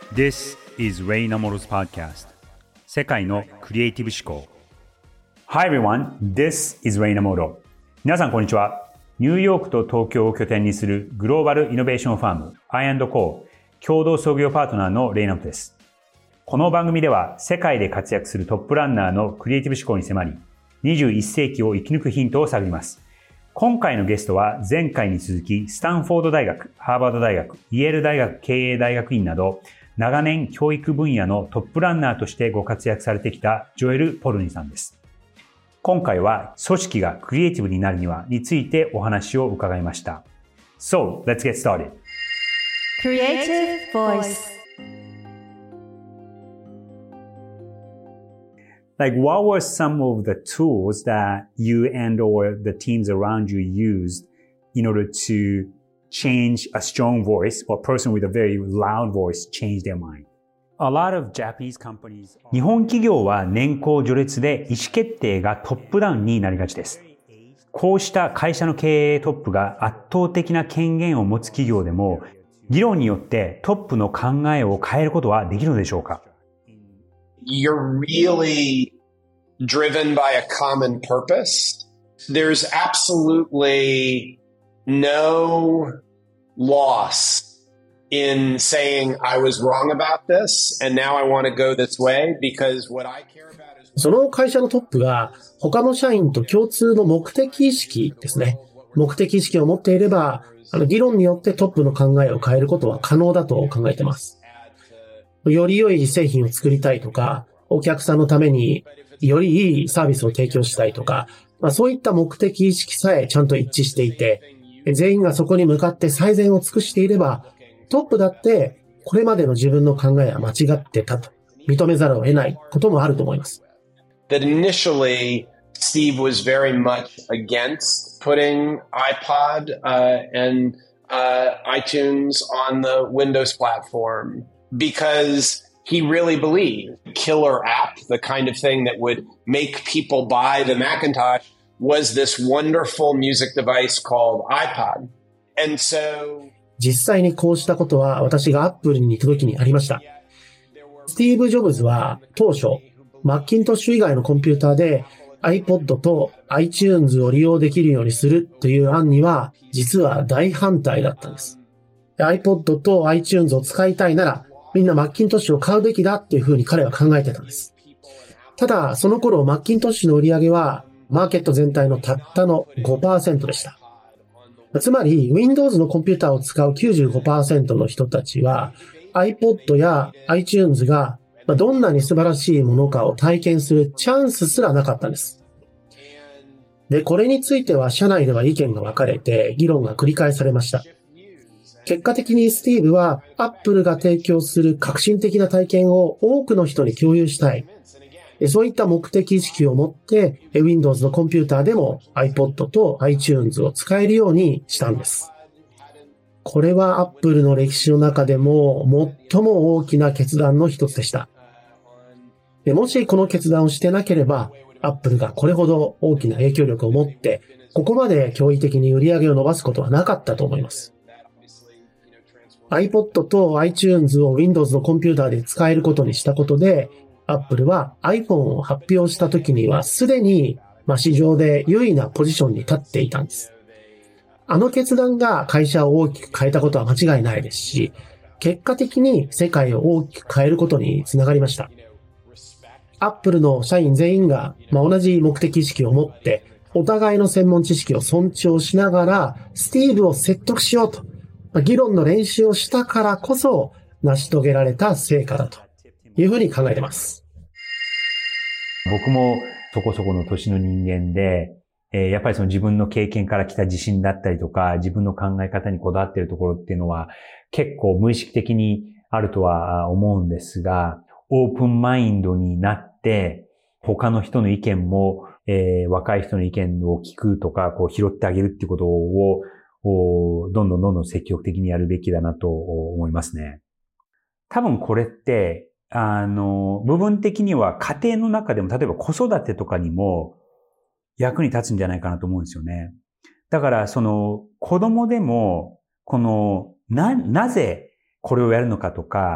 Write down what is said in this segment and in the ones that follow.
This is Ray Namoro's podcast. 世界のクリエイティブ思考。Hi everyone, this is Ray Namoro. 皆さんこんにちは。ニューヨークと東京を拠点にするグローバルイノベーションファーム I&Co 共同創業パートナーのレイナモトです。この番組では世界で活躍するトップランナーのクリエイティブ思考に迫り、21世紀を生き抜くヒントを探ります。今回のゲストは前回に続きスタンフォード大学、ハーバード大学、イェール大学経営大学院など長年教育分野のトップランナーとしてご活躍されてきたジョエル・ポルニさんです。今回は組織がクリエイティブになるにはについてお話を伺いました。So, let's get started. Creative Voice.Like, what were some of the tools that you and or the teams around you used in order to change a strong voice or a person with a very loud voice change their mind? A lot of Japanese companies... 日本企業は年功序列で意思決定がトップダウンになりがちです。こうした会社の経営トップが圧倒的な権限を持つ企業でも、議論によってトップの考えを変えることはできるのでしょうか ？You're really driven by a common purpose. There's absolutely no loss in saying I was wrong about this and now I want to go this way because what I care about is... その会社のトップが他の社員と共通の目的意識ですね。目的意識を持っていれば、議論によってトップの考えを変えることは可能だと考えています。より良い製品を作りたいとか、お客さんのためによりいいサービスを提供したいとか、そういった目的意識さえちゃんと一致していて、全員がそこに向かって最善を尽くしていれば、トップだってこれまでの自分の考えは間違ってたと認めざるを得ないこともあると思います。 That initially, Steve was very much against putting iPod and iTunes on the Windows platform because he really believed killer app, the kind of thing that would make people buy the Macintosh, was this wonderful music device called iPod. And so... 実際にこうしたことは私が Apple に行く時にありました。スティーブ・ジョブズは当初、マッキントッシュ以外のコンピューターで iPod と iTunes を利用できるようにするという案には実は大反対だったんです。iPod と iTunes を使いたいならみんなマッキントッシュを買うべきだっていうふうに彼は考えてたんです。ただ、その頃マッキントッシュの売り上げはマーケット全体のたったの 5% でした。つまり、Windows のコンピューターを使う 95% の人たちは iPod や iTunes がどんなに素晴らしいものかを体験するチャンスすらなかったんです。で、これについては社内では意見が分かれて議論が繰り返されました。結果的にスティーブは Apple が提供する革新的な体験を多くの人に共有したい。そういった目的意識を持って Windows のコンピューターでも iPod と iTunes を使えるようにしたんです。これは Apple の歴史の中でも最も大きな決断の一つでした。もしこの決断をしてなければ Apple がこれほど大きな影響力を持ってここまで驚異的に売り上げを伸ばすことはなかったと思います。iPod と iTunes を Windows のコンピューターで使えることにしたことで、Apple は iPhone を発表した時にはすでに市場で優位なポジションに立っていたんです。あの決断が会社を大きく変えたことは間違いないですし、結果的に世界を大きく変えることにつながりました。Apple の社員全員が同じ目的意識を持って、お互いの専門知識を尊重しながら、スティーブを説得しようと。議論の練習をしたからこそ成し遂げられた成果だというふうに考えています。 僕もそこそこの年の人間で、やっぱりその自分の経験から来た自信だったりとか、自分の考え方にこだわっているところっていうのは結構無意識的にあるとは思うんですが、オープンマインドになって他の人の意見も、若い人の意見を聞くとか、拾ってあげるっていうことをどんどん積極的にやるべきだなと思いますね。多分これって、部分的には家庭の中でも、例えば子育てとかにも役に立つんじゃないかなと思うんですよね。だから、子供でも、なぜこれをやるのかとか、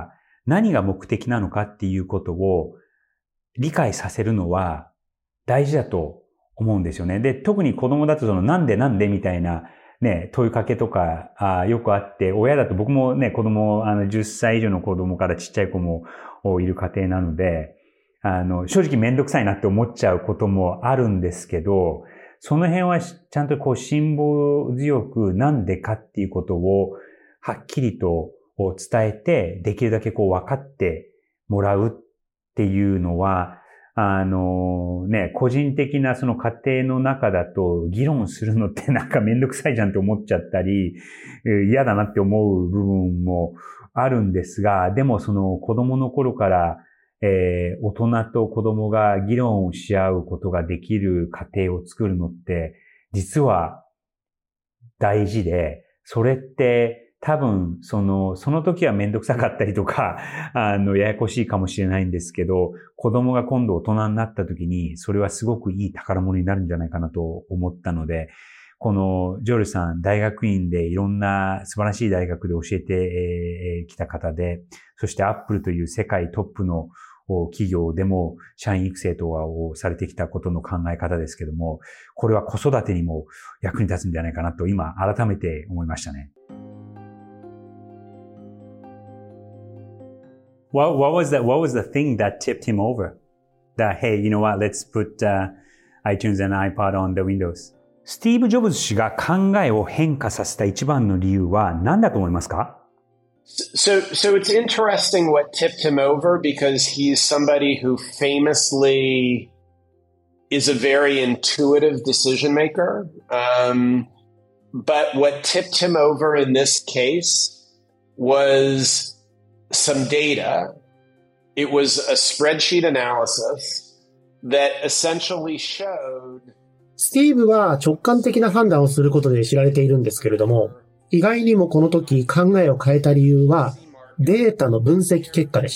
何が目的なのかっていうことを理解させるのは大事だと思うんですよね。で、特に子供だとなんでみたいなね、問いかけとかよくあって、親だと僕もね、子供、10歳以上の子供からちっちゃい子もいる家庭なので、正直めんどくさいなって思っちゃうこともあるんですけど、その辺はちゃんと辛抱強くなんでかっていうことをはっきりと伝えて、できるだけ分かってもらうっていうのは、個人的なその家庭の中だと議論するのってなんかめんどくさいじゃんって思っちゃったり、嫌だなって思う部分もあるんですが、でもその子供の頃から、大人と子供が議論をし合うことができる家庭を作るのって実は大事で、それって多分、その時はめんどくさかったりとか、ややこしいかもしれないんですけど、子供が今度大人になった時に、それはすごくいい宝物になるんじゃないかなと思ったので、このジョルさん、大学院でいろんな素晴らしい大学で教えてきた方で、そしてアップルという世界トップの企業でも社員育成とかをされてきたことの考え方ですけども、これは子育てにも役に立つんじゃないかなと今改めて思いましたね。What was the thing that tipped him over? That, hey, you know what, let's put iTunes and iPod on the Windows. スティーブ・ジョブズ氏が考えを変化させた一番の理由は何だと思いますか？ So it's interesting what tipped him over because he's somebody who famously is a very intuitive decision maker. But what tipped him over in this case was some data. It was a spreadsheet analysis that essentially showed スティーブは直感的な判断をすることで知られているんですけれども、意外にもこの時考えを変えた理由はデータの分析結果でした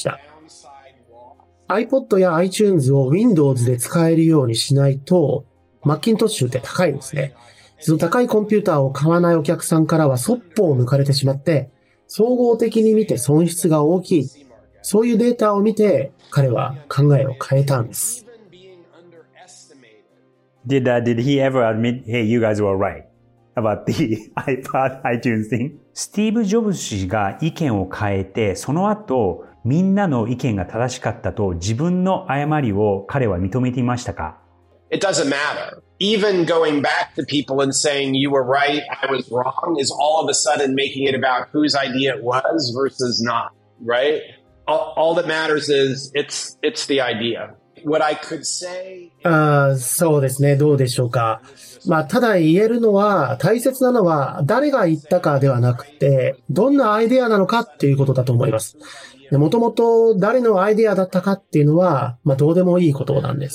。iPod や iTunes を Windows で使えるようにしないと、マッキントッシュって高いんですね。その高いコンピューターを買わないお客さんからはそっぽを抜かれてしまって、総合的に見て損失が大きい。そういうデータを見て彼は考えを変えたんです。 Did he ever admit, hey, you guys were right about the iPod, iTunes thing? スティーブ・ジョブズ氏が意見を変えて、その後、みんなの意見が正しかったと自分の誤りを彼は認めていましたか？ It doesn't matter. Even going back to people and saying you were right, I was wrong is all of a sudden making it about whose idea it was versus not, right? All that matters is it's the idea. What I could say... そうですね。どうでしょうか。ただ言えるのは、大切なのは誰が言ったかではなくて、どんなアイデアなのかっていうことだと思います。もともと誰のアイデアだったかっていうのは、どうでもいいことなんです。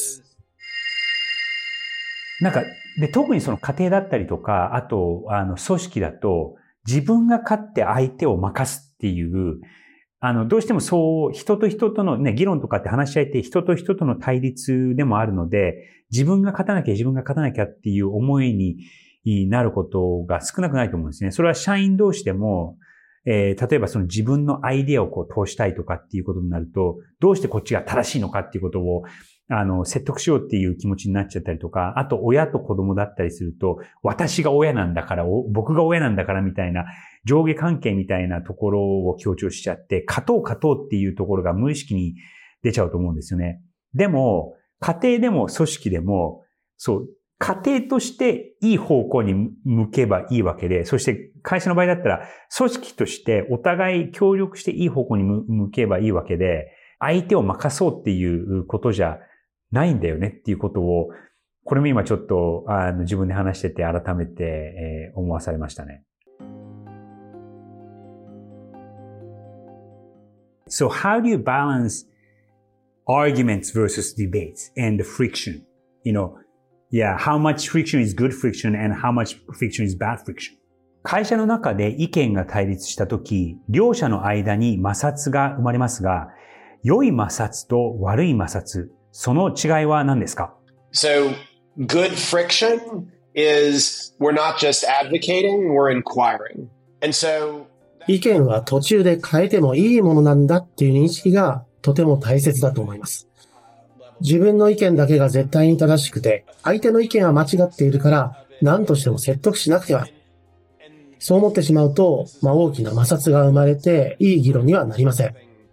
で、特にその家庭だったりとか、あと、組織だと、自分が勝って相手を任すっていう、どうしてもそう、人と人とのね、議論とかって話し合いって人と人との対立でもあるので、自分が勝たなきゃっていう思いになることが少なくないと思うんですね。それは社員同士でも、例えばその自分のアイデアを通したいとかっていうことになると、どうしてこっちが正しいのかっていうことを、説得しようっていう気持ちになっちゃったりとか、あと親と子供だったりすると、私が親なんだから、僕が親なんだからみたいな上下関係みたいなところを強調しちゃって、勝とうっていうところが無意識に出ちゃうと思うんですよね。でも、家庭でも組織でも、そう、家庭としていい方向に向けばいいわけで、そして会社の場合だったら、組織としてお互い協力していい方向に向けばいいわけで、相手を任そうっていうことじゃないんだよねっていうことを、これも今ちょっと自分で話してて改めて、思わされましたね。So how do you balance arguments versus debates and the friction? How much friction is good friction and how much friction is bad friction? 会社の中で意見が対立したとき、両者の間に摩擦が生まれますが、良い摩擦と悪い摩擦、その違いは何ですか？ So, good friction is we're not just advocating, we're inquiring. And so 意見は途中で変えてもいいものなんだっていう認識がとても大切だと思います。自分の意見だけが絶対に正しくて、相手の意見は間違っているから何としても説得しなくては。そう思ってしまうと、大きな摩擦が生まれていい議論にはなりません。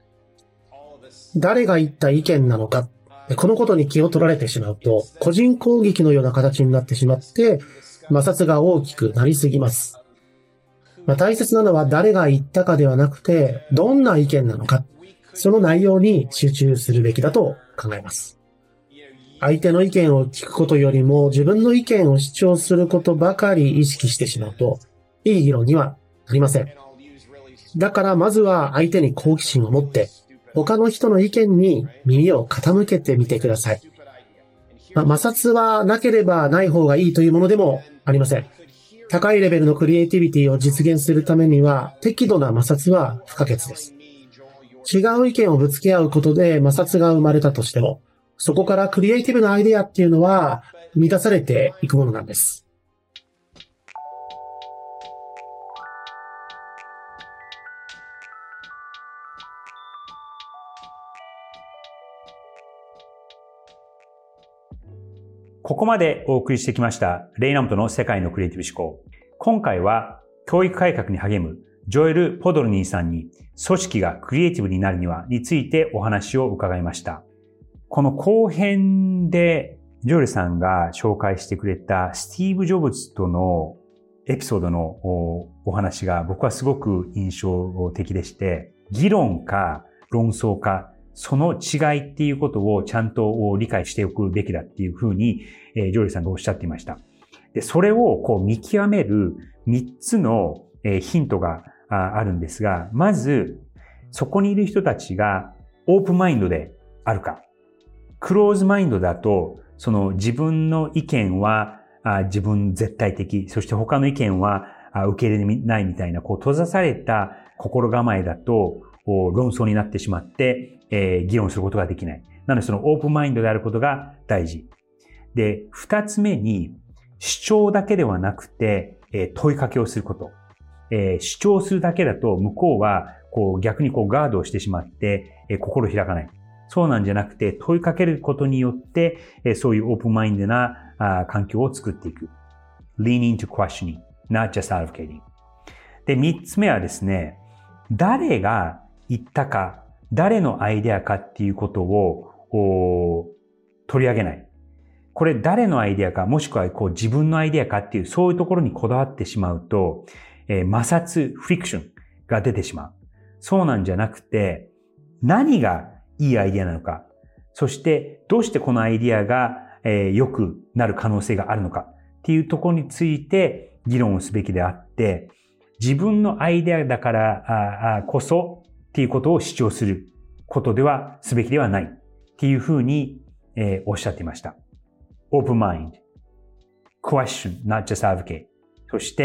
誰が言った意見なのか、このことに気を取られてしまうと、個人攻撃のような形になってしまって、摩擦が大きくなりすぎます。大切なのは誰が言ったかではなくて、どんな意見なのか、その内容に集中するべきだと考えます。相手の意見を聞くことよりも自分の意見を主張することばかり意識してしまうと、いい議論にはなりません。だからまずは相手に好奇心を持って、他の人の意見に耳を傾けてみてください。摩擦はなければない方がいいというものでもありません。高いレベルのクリエイティビティを実現するためには適度な摩擦は不可欠です。違う意見をぶつけ合うことで摩擦が生まれたとしても、そこからクリエイティブなアイデアっていうのは生み出されていくものなんです。 ここまでお送りしてきましたレイナモトの世界のクリエイティブ思考。今回は教育改革に励むジョエル・ポドルニーさんに組織がクリエイティブになるにはについてお話を伺いました。この後編でジョエルさんが紹介してくれたスティーブ・ジョブズとのエピソードのお話が僕はすごく印象的でして、議論か論争かその違いっていうことをちゃんと理解しておくべきだっていうふうに、ジョエルさんがおっしゃっていました。で、それを見極める3つのヒントがあるんですが、まず、そこにいる人たちがオープンマインドであるか。クローズマインドだと、その自分の意見は自分絶対的、そして他の意見は受け入れないみたいな、閉ざされた心構えだと論争になってしまって、議論することができない。なのでそのオープンマインドであることが大事。で、二つ目に主張だけではなくて、問いかけをすること。主張するだけだと向こうは逆にガードをしてしまって、心を開かない。そうなんじゃなくて問いかけることによって、そういうオープンマインドな環境を作っていく。Lean into questioning, not just advocating. で、三つ目はですね、誰が言ったか、誰のアイデアかっていうことを取り上げない。これ誰のアイデアか、もしくは自分のアイデアかっていう、そういうところにこだわってしまうと、摩擦、フリクションが出てしまう。そうなんじゃなくて、何がいいアイデアなのか、そしてどうしてこのアイデアが良くなる可能性があるのかっていうところについて議論をすべきであって、自分のアイデアだからこそっていうことを主張することではすべきではないっていうふうにおっしゃっていました。Open mind, question, not just advocate. そして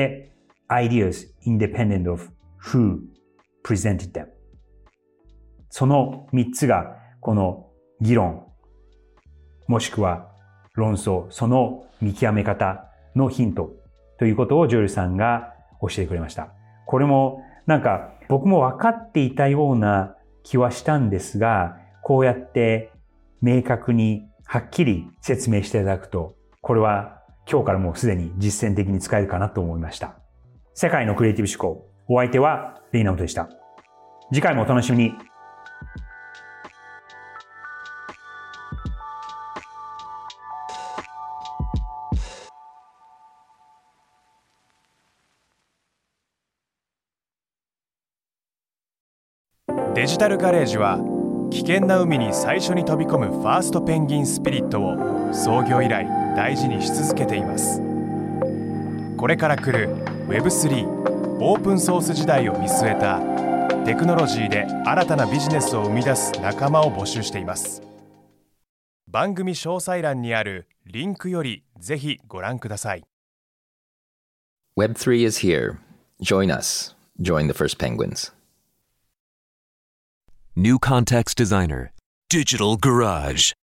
ideas independent of who presented them. その3つがこの議論もしくは論争、その見極め方のヒントということをジョエルさんが教えてくれました。これも僕も分かっていたような気はしたんですが、こうやって明確にはっきり説明していただくと、これは今日からもうすでに実践的に使えるかなと思いました。世界のクリエイティブ思考。お相手はレイナモトでした。次回もお楽しみに。 デジタルガレージは危険な海に最初に飛び込むファーストペンギンスピリットを創業以来大事にし続けています。これから来る Web3 オープンソース時代を見据えたテクノロジーで新たなビジネスを生み出す仲間を募集しています。番組詳細欄にあるリンクよりぜひご覧ください。 Web3 is here. Join us. Join the first penguins. New Context Designer, Digital Garage.